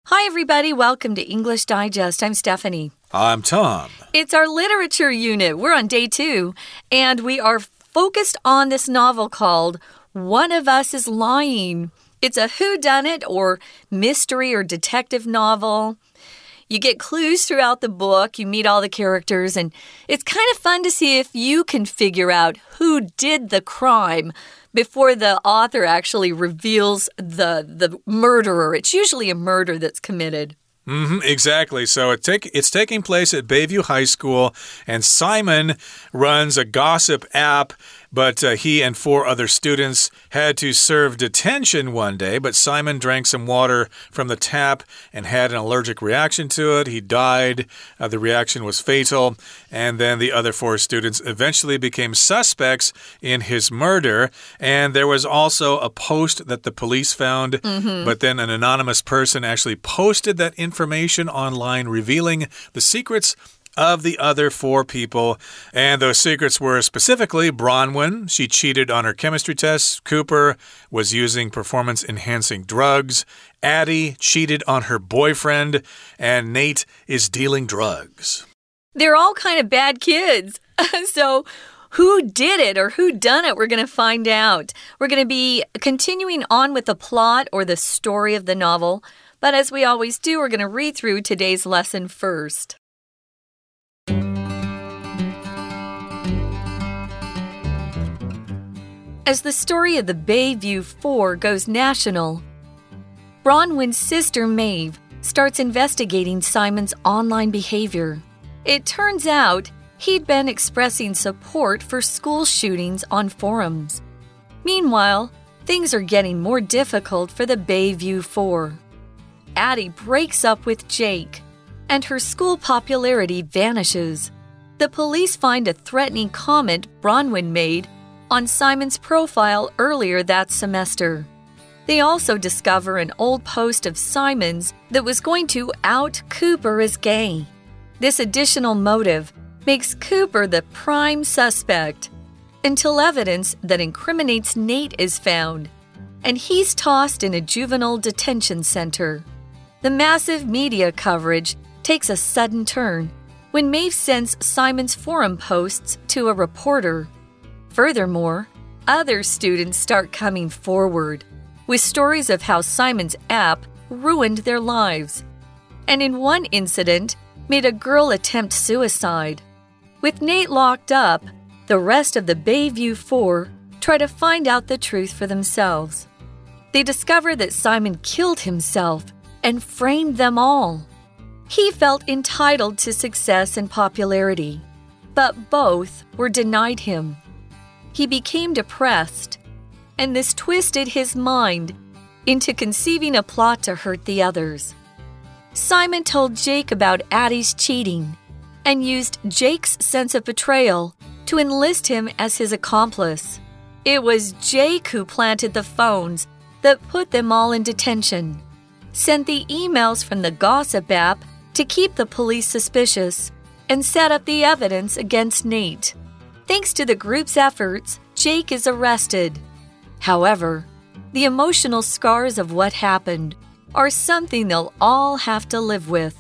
Hi, everybody. Welcome to English Digest. I'm Stephanie. I'm Tom. It's our literature unit. We're on day 2, and we are focused on this novel called One of Us is Lying. It's a whodunit or mystery or detective novel. You get clues throughout the book, you meet all the characters, and it's kind of fun to see if you can figure out who did the crime before the author actually reveals the murderer. It's usually a murder that's committed. Exactly. So it's taking place at Bayview High School, and Simon runs a gossip app, but he and 4 other students had to serve detention one day, but Simon drank some water from the tap and had an allergic reaction to it. He died. The reaction was fatal, and then the other 4 students eventually became suspects in his murder, and there was also a post that the police found, but then an anonymous person actually posted that information online revealing the secrets of the other 4 people, and those secrets were specifically Bronwyn. She cheated on her chemistry tests. Cooper was using performance-enhancing drugs. Addie cheated on her boyfriend, and Nate is dealing drugs. They're all kind of bad kids. So who did it or who done it? We're going to find out. We're going to be continuing on with the plot or the story of the novel, but as we always do, we're going to read through today's lesson first. As the story of the Bayview 4 goes national, Bronwyn's sister Maeve starts investigating Simon's online behavior. It turns out he'd been expressing support for school shootings on forums. Meanwhile, things are getting more difficult for the Bayview 4. Addie breaks up with Jake, and her school popularity vanishes. The police find a threatening comment Bronwyn made on Simon's profile earlier that semester. They also discover an old post of Simon's that was going to out Cooper as gay. This additional motive makes Cooper the prime suspect until evidence that incriminates Nate is found, and he's tossed in a juvenile detention center. The massive media coverage takes a sudden turn when Maeve sends Simon's forum posts to a reporter. Furthermore, other students start coming forward with stories of how Simon's app ruined their lives, and in one incident, made a girl attempt suicide. With Nate locked up, the rest of the Bayview 4 try to find out the truth for themselves. They discover that Simon killed himself and framed them all. He felt entitled to success and popularity, but both were denied him. He became depressed, and this twisted his mind into conceiving a plot to hurt the others. Simon told Jake about Addie's cheating and used Jake's sense of betrayal to enlist him as his accomplice. It was Jake who planted the phones that put them all in detention, sent the emails from the gossip app to keep the police suspicious, and set up the evidence against Nate. Thanks to the group's efforts, Jake is arrested. However, the emotional scars of what happened are something they'll all have to live with.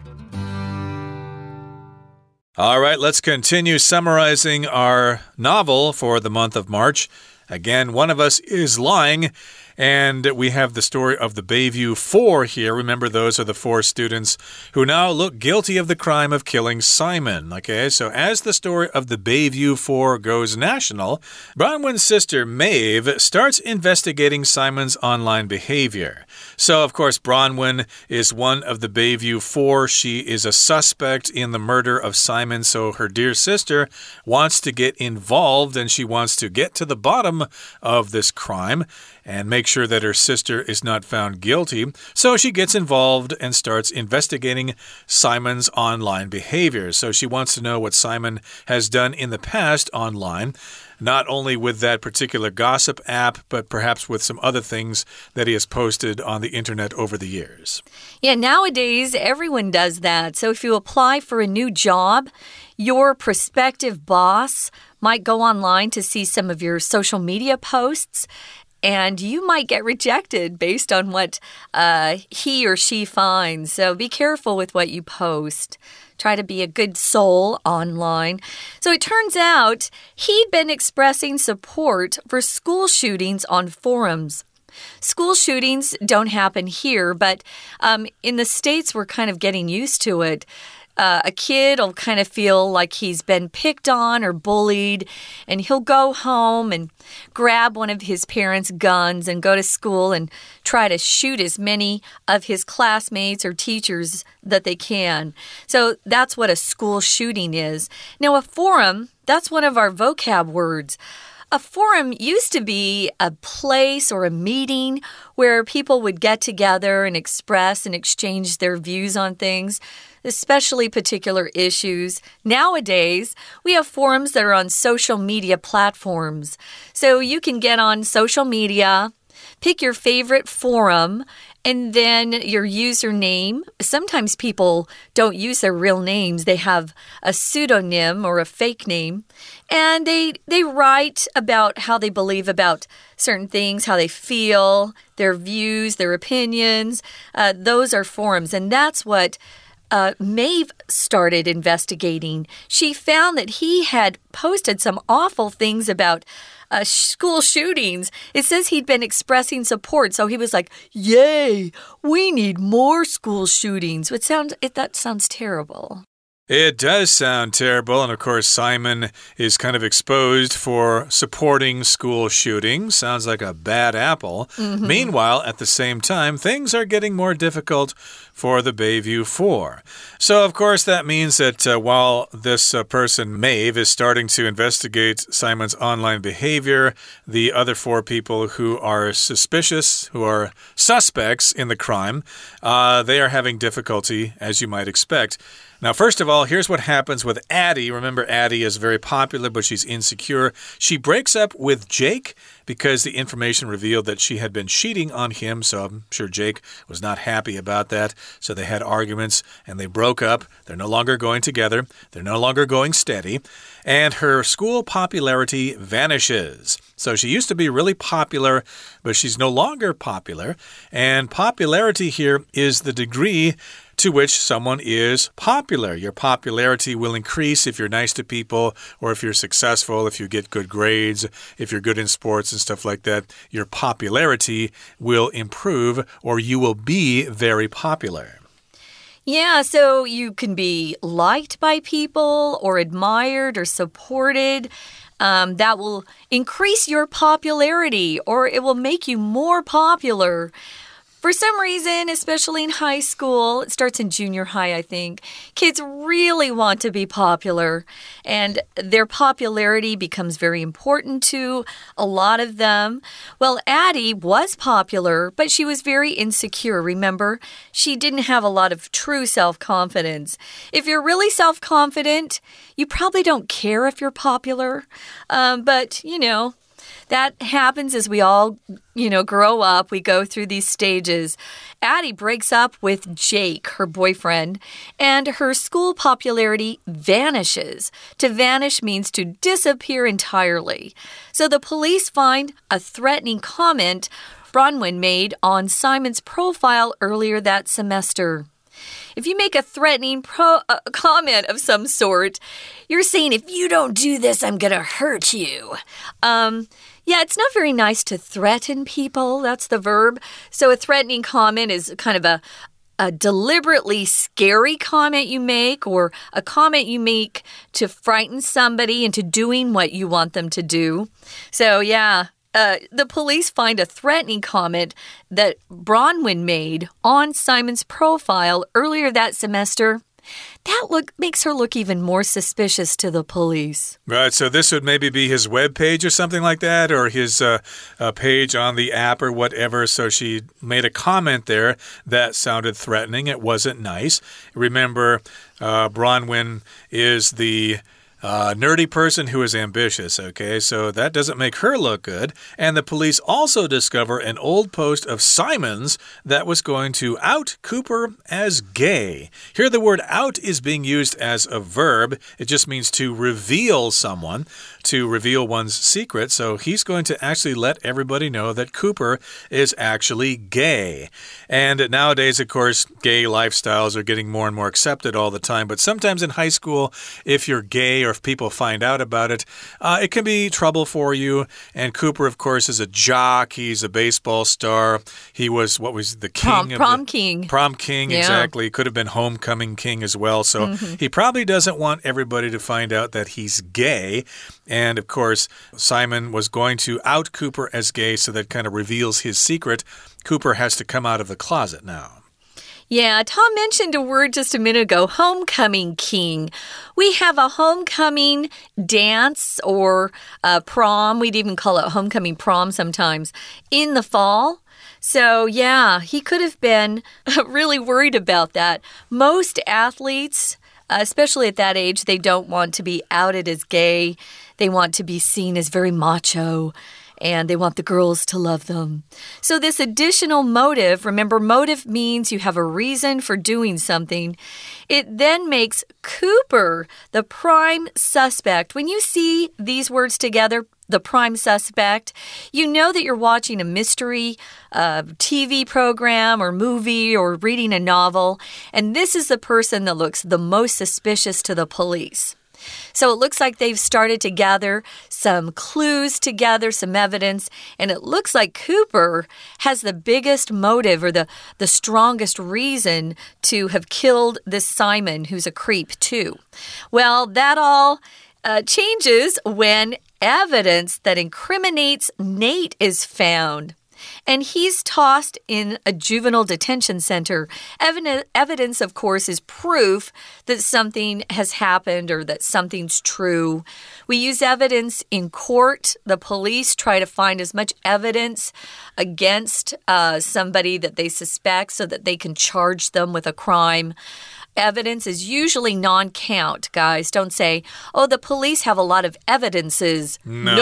All right, let's continue summarizing our novel for the month of March. Again, One of Us is Lying, and we have the story of the Bayview 4 here. Remember, those are the 4 students who now look guilty of the crime of killing Simon. Okay, so as the story of the Bayview 4 goes national, Bronwyn's sister Maeve starts investigating Simon's online behavior. So, of course, Bronwyn is one of the Bayview 4. She is a suspect in the murder of Simon, so her dear sister wants to get involved, and she wants to get to the bottom of this crime and make sure that her sister is not found guilty. So she gets involved and starts investigating Simon's online behavior. So she wants to know what Simon has done in the past online, not only with that particular gossip app, but perhaps with some other things that he has posted on the internet over the years. Yeah, nowadays everyone does that. So if you apply for a new job, your prospective boss might go online to see some of your social media posts and you might get rejected based on what he or she finds. So be careful with what you post. Try to be a good soul online. So it turns out he'd been expressing support for school shootings on forums. School shootings don't happen here, but in the States, we're kind of getting used to it. A kid will kind of feel like he's been picked on or bullied, and he'll go home and grab one of his parents' guns and go to school and try to shoot as many of his classmates or teachers that they can. So that's what a school shooting is. Now, a forum, that's one of our vocab words. A forum used to be a place or a meeting where people would get together and express and exchange their views on things, especially particular issues. Nowadays, we have forums that are on social media platforms. So you can get on social media, pick your favorite forum, and then your username. Sometimes people don't use their real names. They have a pseudonym or a fake name. And they write about how they believe about certain things, how they feel, their views, their opinions. Those are forums. And that's what Maeve started investigating. She found that he had posted some awful things about school shootings. It says he'd been expressing support, so he was like, yay, we need more school shootings. That sounds terrible. It does sound terrible, and of course Simon is kind of exposed for supporting school shootings. Sounds like a bad apple. Meanwhile, at the same time, things are getting more difficult for the Bayview 4. So, of course, that means that while this person, Maeve, is starting to investigate Simon's online behavior, the other 4 people who are suspicious, who are suspects in the crime, they are having difficulty, as you might expect. Now, first of all, here's what happens with Addie. Remember, Addie is very popular, but she's insecure. She breaks up with Jake because the information revealed that she had been cheating on him, so I'm sure Jake was not happy about that. So they had arguments, and they broke up. They're no longer going together. They're no longer going steady. And her school popularity vanishes. So she used to be really popular, but she's no longer popular. And popularity here is the degree to which someone is popular. Your popularity will increase if you're nice to people, or if you're successful, if you get good grades, if you're good in sports and stuff like that. Your popularity will improve, or you will be very popular. Yeah, so you can be liked by people or admired or supported. That will increase your popularity, or it will make you more popular. For some reason, especially in high school, it starts in junior high, I think, kids really want to be popular, and their popularity becomes very important to a lot of them. Well, Addie was popular, but she was very insecure, remember? She didn't have a lot of true self-confidence. If you're really self-confident, you probably don't care if you're popular, but, that happens as we all, grow up. We go through these stages. Addie breaks up with Jake, her boyfriend, and her school popularity vanishes. To vanish means to disappear entirely. So the police find a threatening comment Bronwyn made on Simon's profile earlier that semester. If you make a threatening comment of some sort, you're saying, if you don't do this, I'm going to hurt you. Yeah, it's not very nice to threaten people. That's the verb. So a threatening comment is kind of a deliberately scary comment you make, or a comment you make to frighten somebody into doing what you want them to do. So, yeah. The police find a threatening comment that Bronwyn made on Simon's profile earlier that semester. That makes her look even more suspicious to the police. Right, so this would maybe be his web page or something like that, or his page on the app or whatever. So she made a comment there that sounded threatening. It wasn't nice. Remember, Bronwyn is the nerdy person who is ambitious, okay? So that doesn't make her look good. And the police also discover an old post of Simon's that was going to out Cooper as gay. Here the word out is being used as a verb. It just means to reveal someone, to reveal one's secret. So he's going to actually let everybody know that Cooper is actually gay. And nowadays, of course, gay lifestyles are getting more and more accepted all the time. But sometimes in high school, if you're gay or if people find out about it, it can be trouble for you. And Cooper, of course, is a jock. He's a baseball star. He was, what was the king? Prom king. Prom king, yeah. Exactly. Could have been homecoming king as well. So he probably doesn't want everybody to find out that he's gay. And, of course, Simon was going to out Cooper as gay, so that kind of reveals his secret. Cooper has to come out of the closet now. Yeah, Tom mentioned a word just a minute ago, homecoming king. We have a homecoming dance or prom. We'd even call it homecoming prom sometimes in the fall. So, yeah, he could have been really worried about that. Most athletes, especially at that age, they don't want to be outed as gay. They want to be seen as very macho. And they want the girls to love them. So this additional motive, remember, motive means you have a reason for doing something. It then makes Cooper the prime suspect. When you see these words together, the prime suspect, you know that you're watching a mystery TV program or movie or reading a novel. And this is the person that looks the most suspicious to the police. So it looks like they've started to gather some clues together, some evidence, and it looks like Cooper has the biggest motive or the strongest reason to have killed this Simon, who's a creep too. Well, that all changes when evidence that incriminates Nate is found. And he's tossed in a juvenile detention center. Evidence, of course, is proof that something has happened or that something's true. We use evidence in court. The police try to find as much evidence against somebody that they suspect so that they can charge them with a crime. Evidence is usually non-count, guys. Don't say, oh, the police have a lot of evidences.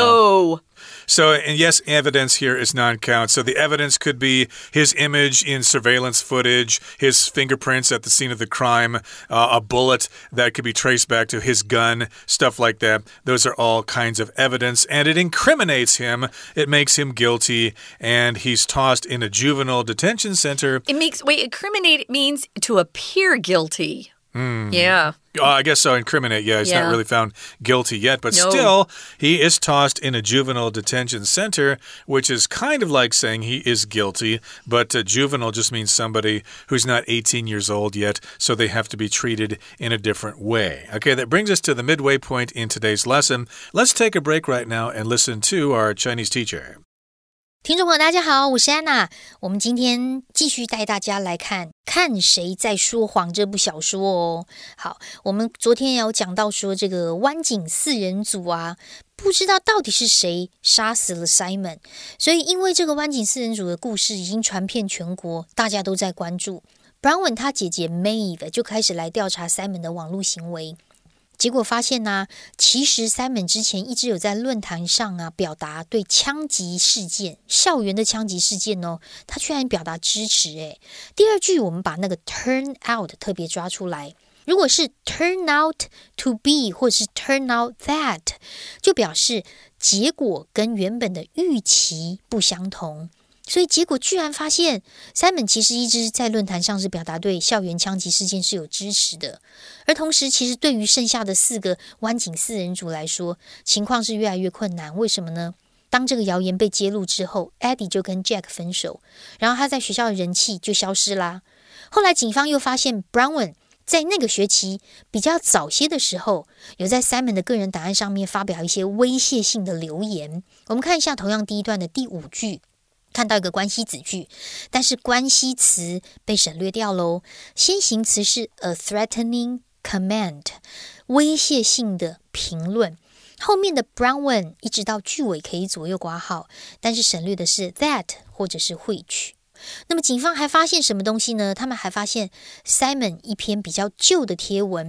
No. So, and yes, evidence here is non-count. So the evidence could be his image in surveillance footage, his fingerprints at the scene of the crime, a bullet that could be traced back to his gun, stuff like that. Those are all kinds of evidence, and it incriminates him. It makes him guilty, and he's tossed in a juvenile detention center. Incriminate means to appear guilty. Yeah. I guess so. Incriminate. Yeah, he's not really found guilty yet. But still, he is tossed in a juvenile detention center, which is kind of like saying he is guilty. But juvenile just means somebody who's not 18 years old yet, so they have to be treated in a different way. Okay, that brings us to the midway point in today's lesson. Let's take a break right now and listen to our Chinese teacher. 听众朋友大家好，我是安娜。我们今天继續帶大家來看誰在說謊這部小說哦。好，我們昨天有講到說這個灣景四人組啊，不知道到底是誰殺死了 Simon， 所以因為這個灣景四人組的故事已經傳遍全國，大家都在關注。Bronwyn 他姐姐 Maeve 就開始來調查 Simon 的網絡行為。結果發現呢，其實 Simon 之前一直有在論壇上表達對槍擊事件、校園的槍擊事件哦，他居然表達支持誒。第二句我們把那個 turn out 特別抓出來，如果是 turn out to be 或者是 turn out that， 就表示結果跟原本的預期不相同。所以結果居然發現 Simon 其實一直在論壇上是表達對校園槍擊事件是有支持的，而同時其實對於剩下的4個灣景四人組來說，情況是越來越困難。為什麼呢？當這個謠言被揭露之後， Eddie 就跟 Jack 分手，然後他在學校的人氣就消失啦。後來警方又發現 Bronwyn 在那個學期比較早些的時候，有在 Simon 的個人檔案上面發表一些威脅性的留言。我們看一下同樣第一段的第5句，看到一個關係子句，但是關係詞被省略掉嘍。先行詞是 a threatening comment， 威脅性的評論。後面的 Bronwyn 一直到句尾可以左右括號，但是省略的是 that 或者是 which。那麼警方還發現什麼東西呢？他們還發現 Simon 一篇比較舊的貼文，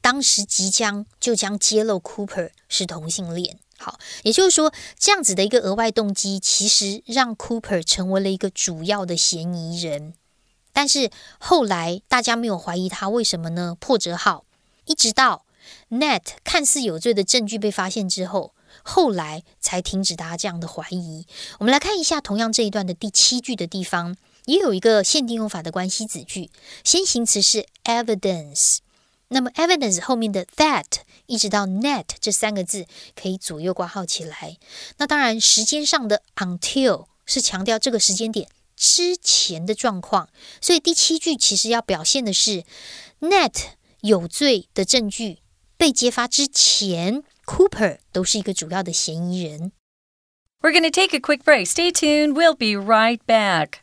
當時就將揭露 Cooper 是同性戀。好，也就是說，這樣子的一個額外動機，其實讓 Cooper 成為了一個主要的嫌疑人。但是後來大家沒有懷疑他，為什麼呢？破折號，一直到 Nat 看似有罪的證據被發現之後，後來才停止大家這樣的懷疑。我們來看一下同樣這一段的第7句的地方，也有一個限定用法的關係子句，先行詞是 evidence， 那麼 evidence 後面的 that 一直到 net 這3個字可以左右掛號起來。那當然時間上的 until 是強調這個時間點之前的狀況，所以第7句其實要表現的是 Nat 有罪的證據被揭發之前， Cooper 都是一個主要的嫌疑人。 We're going to take a quick break. Stay tuned. We'll be right back.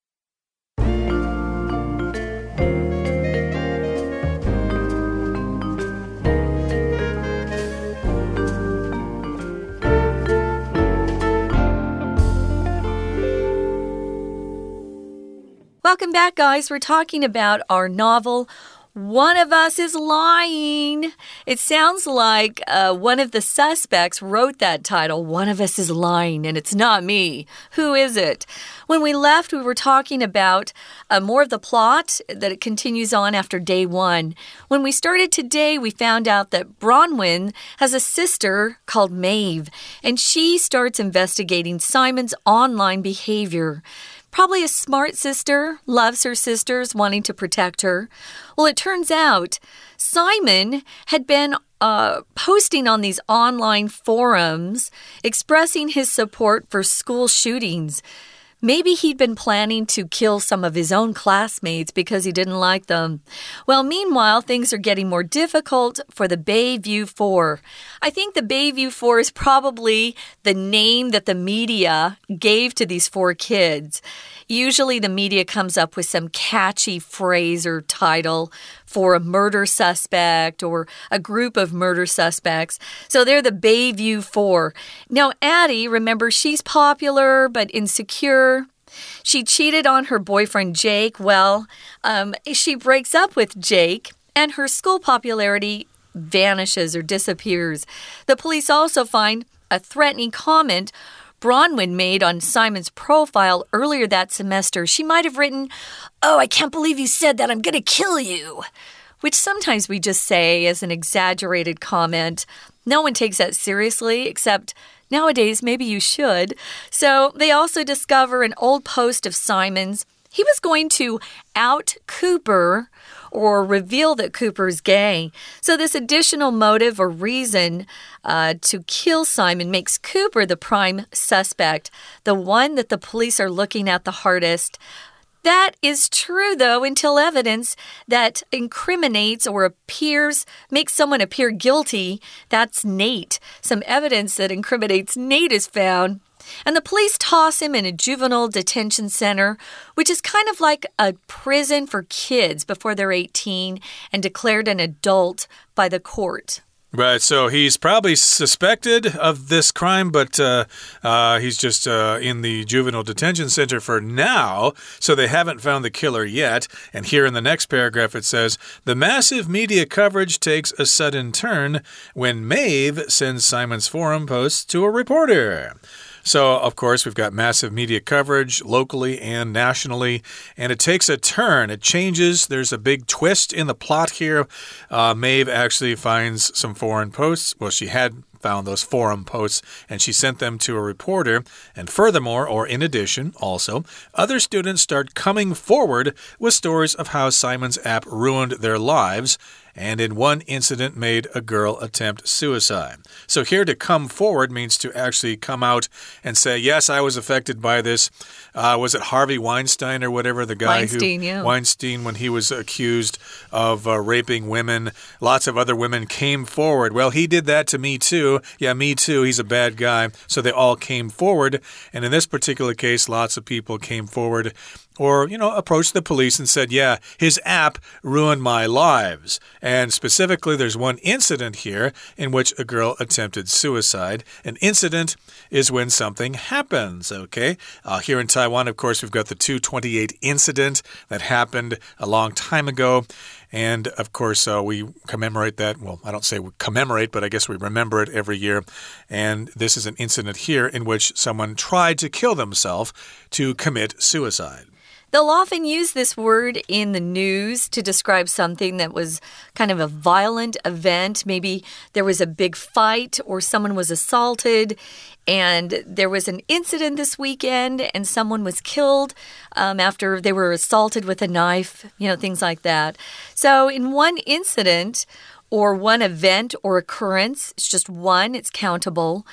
Welcome back, guys. We're talking about our novel, One of Us is Lying. It sounds like one of the suspects wrote that title, One of Us is Lying, and it's not me. Who is it? When we left, we were talking about more of the plot, that it continues on after day 1. When we started today, we found out that Bronwyn has a sister called Maeve, and she starts investigating Simon's online behavior.Probably a smart sister, loves her sisters, wanting to protect her. Well, it turns out Simon had been posting on these online forums, expressing his support for school shootings.Maybe he'd been planning to kill some of his own classmates because he didn't like them. Well, meanwhile, things are getting more difficult for the Bayview 4. I think the Bayview 4 is probably the name that the media gave to these 4 kids. Usually the media comes up with some catchy phrase or title for a murder suspect or a group of murder suspects. So they're the Bayview 4. Now, Addie, remember, she's popular but insecure. She cheated on her boyfriend, Jake. Well, she breaks up with Jake, and her school popularity vanishes or disappears. The police also find a threatening comment Bronwyn made on Simon's profile earlier that semester. She might have written, "Oh, I can't believe you said that. I'm going to kill you," which sometimes we just say as an exaggerated comment. No one takes that seriously, except nowadays maybe you should. So they also discover an old post of Simon's. He was going to out Cooper or reveal that Cooper's gay. So this additional motive or reason to kill Simon makes Cooper the prime suspect, the one that the police are looking at the hardest. That is true, though, until evidence that incriminates or makes someone appear guilty. That's Nate. Some evidence that incriminates Nate is found. And the police toss him in a juvenile detention center, which is kind of like a prison for kids before they're 18 and declared an adult by the court. Right, so he's probably suspected of this crime, but he's just in the juvenile detention center for now, so they haven't found the killer yet. And here in the next paragraph it says, the massive media coverage takes a sudden turn when Maeve sends Simon's forum posts to a reporter. So, of course, we've got massive media coverage locally and nationally, and it takes a turn. It changes. There's a big twist in the plot here. Maeve actually finds some foreign posts. Well, she had found those forum posts, and she sent them to a reporter. And furthermore, or in addition, also, other students start coming forward with stories of how Simon's app ruined their lives, and in one incident made a girl attempt suicide. So here to come forward means to actually come out and say, yes, I was affected by this. Was it Harvey Weinstein or whatever, the guy Weinstein, when he was accused of raping women, lots of other women came forward. Well, he did that to me too. Yeah, me too. He's a bad guy. So they all came forward. And in this particular case, lots of people came forward or, approached the police and said, yeah, his app ruined my lives. And specifically, there's one incident here in which a girl attempted suicide. An incident is when something happens, okay? Here in Taiwan, of course, we've got the 228 incident that happened a long time ago. And, of course, we commemorate that. Well, I don't say we commemorate, but I guess we remember it every year. And this is an incident here in which someone tried to kill themselves to commit suicide. They'll often use this word in the news to describe something that was kind of a violent event. Maybe there was a big fight or someone was assaulted and there was an incident this weekend and someone was killed after they were assaulted with a knife, things like that. So in one incident or one event or occurrence, it's just one, it's countable.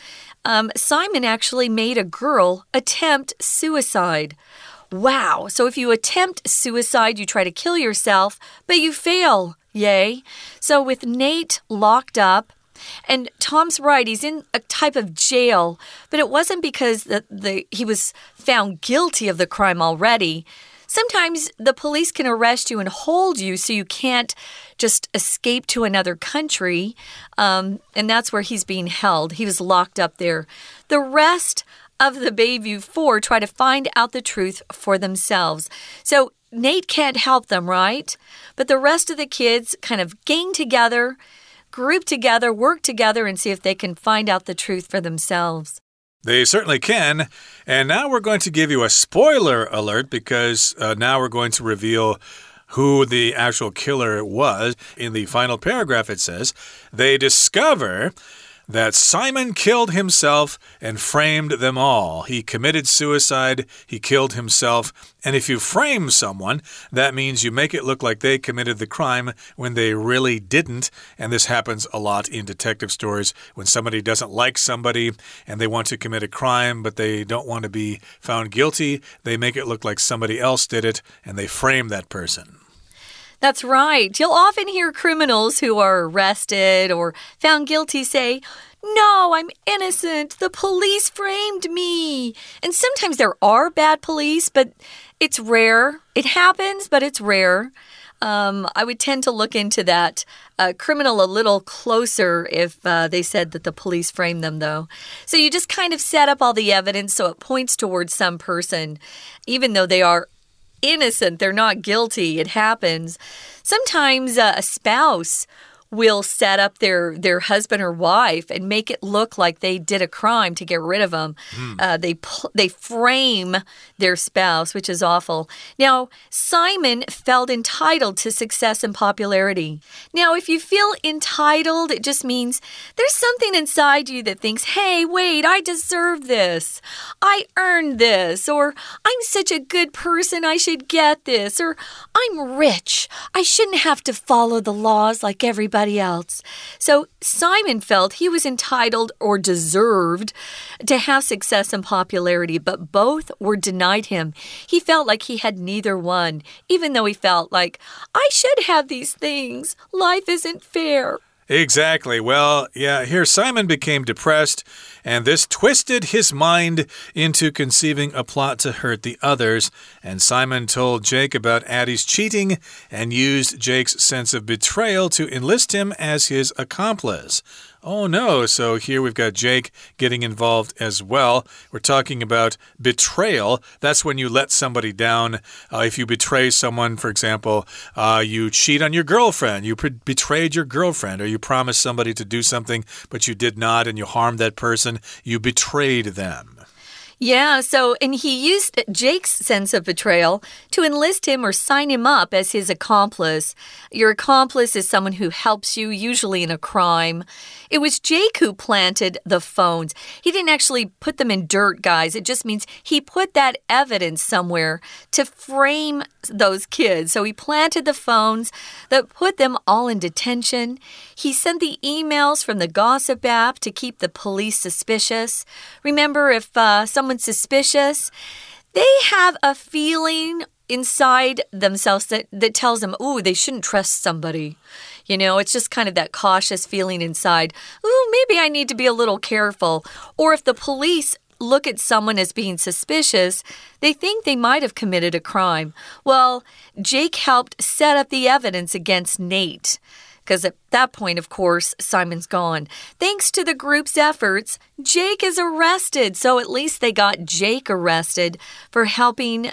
Simon actually made a girl attempt suicide. Wow. So if you attempt suicide, you try to kill yourself, but you fail. Yay. So with Nate locked up, and Tom's right, he's in a type of jail, but it wasn't because he was found guilty of the crime already. Sometimes the police can arrest you and hold you so you can't just escape to another country, and that's where he's being held. He was locked up there. The rest of the Bayview 4 try to find out the truth for themselves. So Nate can't help them, right? But the rest of the kids kind of gang together, group together, work together, and see if they can find out the truth for themselves. They certainly can. And now we're going to give you a spoiler alert because now we're going to reveal who the actual killer was. In the final paragraph, it says, they discover that Simon killed himself and framed them all. He committed suicide, he killed himself, and if you frame someone, that means you make it look like they committed the crime when they really didn't, and this happens a lot in detective stories. When somebody doesn't like somebody and they want to commit a crime, but they don't want to be found guilty, they make it look like somebody else did it, and they frame that person. That's right. You'll often hear criminals who are arrested or found guilty say, "No, I'm innocent. The police framed me." And sometimes there are bad police, but it's rare. It happens, but it's rare. I would tend to look into that criminal a little closer if they said that the police framed them, though. So you just kind of set up all the evidence so it points towards some person, even though they are innocent, they're not guilty. It happens. Sometimes a spouse will set up their husband or wife and make it look like they did a crime to get rid of them. They frame their spouse, which is awful. Now, Simon felt entitled to success and popularity. Now, if you feel entitled, it just means there's something inside you that thinks, hey, wait, I deserve this. I earned this. Or I'm such a good person, I should get this. Or I'm rich. I shouldn't have to follow the laws like everybody else. So Simon felt he was entitled or deserved to have success and popularity, but both were denied him. He felt like he had neither one, even though he felt like, I should have these things. Life isn't fair. Exactly. Well, yeah, here Simon became depressed, and this twisted his mind into conceiving a plot to hurt the others. And Simon told Jake about Addie's cheating and used Jake's sense of betrayal to enlist him as his accomplice. Oh no, so here we've got Jake getting involved as well. We're talking about betrayal. That's when you let somebody down. If you betray someone, for example, you cheat on your girlfriend, you betrayed your girlfriend, or you promised somebody to do something, but you did not, and you harmed that person, you betrayed them. Yeah, and he used Jake's sense of betrayal to enlist him or sign him up as his accomplice. Your accomplice is someone who helps you, usually in a crime. It was Jake who planted the phones. He didn't actually put them in dirt, guys. It just means he put that evidence somewhere to frame those kids. So he planted the phones that put them all in detention. He sent the emails from the gossip app to keep the police suspicious. Remember, if someone's suspicious, they have a feeling inside themselves that tells them, ooh, they shouldn't trust somebody. You know, it's just kind of that cautious feeling inside. Ooh, maybe I need to be a little careful. Or if the police look at someone as being suspicious, they think they might have committed a crime. Well, Jake helped set up the evidence against Nate. Because at that point, of course, Simon's gone. Thanks to the group's efforts, Jake is arrested. So at least they got Jake arrested for helping,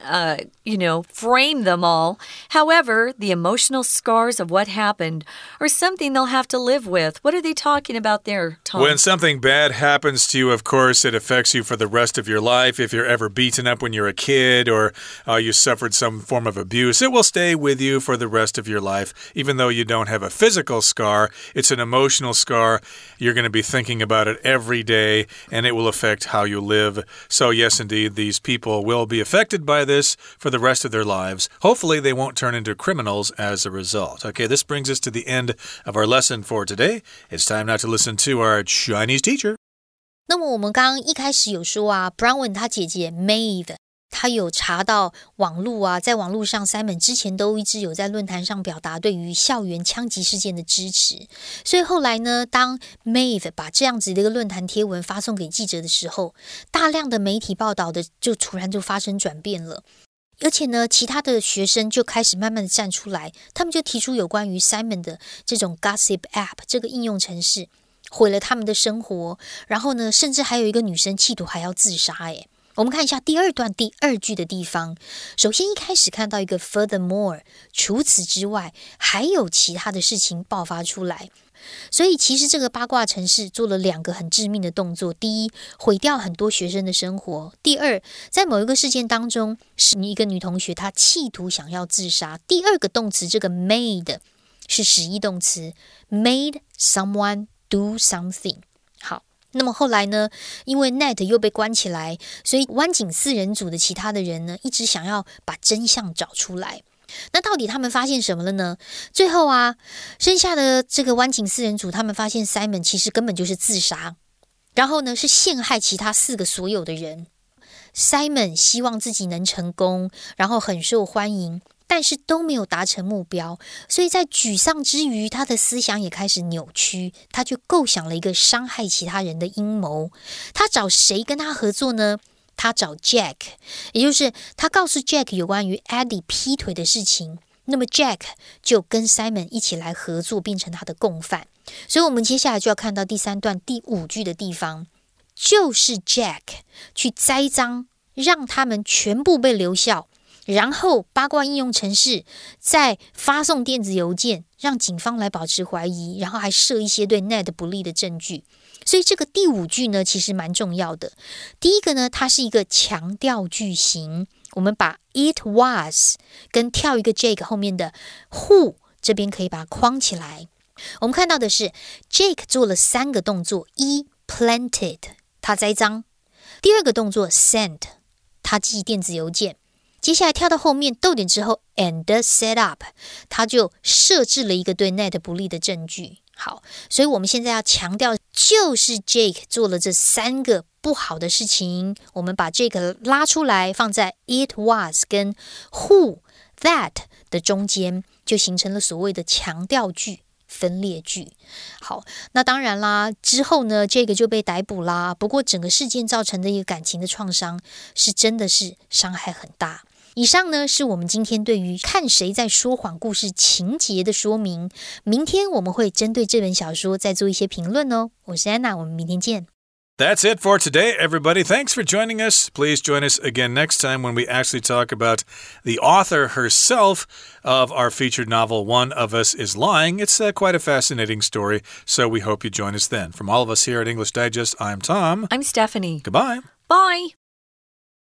frame them all. However, the emotional scars of what happened are something they'll have to live with. What are they talking about there, Tom? When something bad happens to you, of course, it affects you for the rest of your life. If you're ever beaten up when you're a kid or you suffered some form of abuse, it will stay with you for the rest of your life. Even though you don't have a physical scar, it's an emotional scar. You're going to be thinking about it every day, and it will affect how you live. So yes, indeed, these people will be affected by this for the rest of their lives. Hopefully, they won't turn into criminals as a result. Okay, this brings us to the end of our lesson for today. It's time now to listen to our Chinese teacher. 那么我们刚刚一開始有說啊 Bronwyn 他姐姐 Maeve他有查到網路啊，在網路上 Simon 之前都一直有在論壇上表達對於校園槍擊事件的支持，所以後來呢，當 Maeve 把這樣子的一個論壇貼文發送給記者的時候，大量的媒體報道的就突然就發生轉變了，而且呢，其他的學生就開始慢慢的站出來，他們就提出有關於 Simon 的這種 Gossip App 這個應用程式毀了他們的生活，然後呢，甚至還有一個女生企圖還要自殺誒。我們看一下第二段第二句的地方，首先一開始看到一個 furthermore， 除此之外還有其他的事情爆發出來，所以其實這個八卦程式做了兩個很致命的動作，第一，毀掉很多學生的生活，第二，在某一個事件當中，是一個女同學她企圖想要自殺，第二個動詞這個 made 是實義動詞 made someone do something。 好，那麼後來呢，因為 Ned 又被關起來，所以灣景四人組的其他的人呢，一直想要把真相找出來。那到底他們發現什麼了呢？最後啊，剩下的這個灣景四人組，他們發現 Simon 其實根本就是自殺，然後呢是陷害其他4個所有的人。Simon 希望自己能成功，然後很受歡迎，但是都沒有達成目標，所以在沮喪之餘，他的思想也開始扭曲，他就構想了一個傷害其他人的陰謀。他找誰跟他合作呢？他找 Jack， 也就是他告訴 Jack 有關於 Eddie 劈腿的事情，那麼 Jack 就跟 Simon 一起來合作，變成他的共犯。所以我們接下來就要看到第3段第5句的地方，就是 Jack 去栽贓，讓他們全部被留校，然後八卦應用程式再發送電子郵件，讓警方來保持懷疑，然後還設一些對 Ned 不利的證據。所以這個第5句呢，其實蠻重要的。第一個呢，它是一個強調句型，我們把 it was 跟跳一個 Jake 後面的 who 這邊可以把它框起來。我們看到的是 Jake 做了3個動作，一 planted 他栽贓，第二個動作 sent 他寄電子郵件，接下來跳到後面逗點之後 and set up 他就設置了一個對 Ned 不利的證據。好，所以我們現在要強調，就是 Jake 做了這3個不好的事情，我們把 Jake 拉出來放在 it was 跟 who that 的中間，就形成了所謂的強調句分裂句。好，那當然啦，之後呢，Jake 就被逮捕啦。不過整個事件造成的一個感情的創傷，是真的是傷害很大。以上呢是我們今天對於看誰在說謊故事情節的說明。明天我們會針對這本小說再做一些評論哦。我是安娜，我們明天見。 That's it for today, everybody. Thanks for joining us. Please join us again next time when we actually talk about the author herself of our featured novel, One of Us is Lying. It's quite a fascinating story, so we hope you join us then. From all of us here at English Digest, I'm Tom. I'm Stephanie. Goodbye. Bye.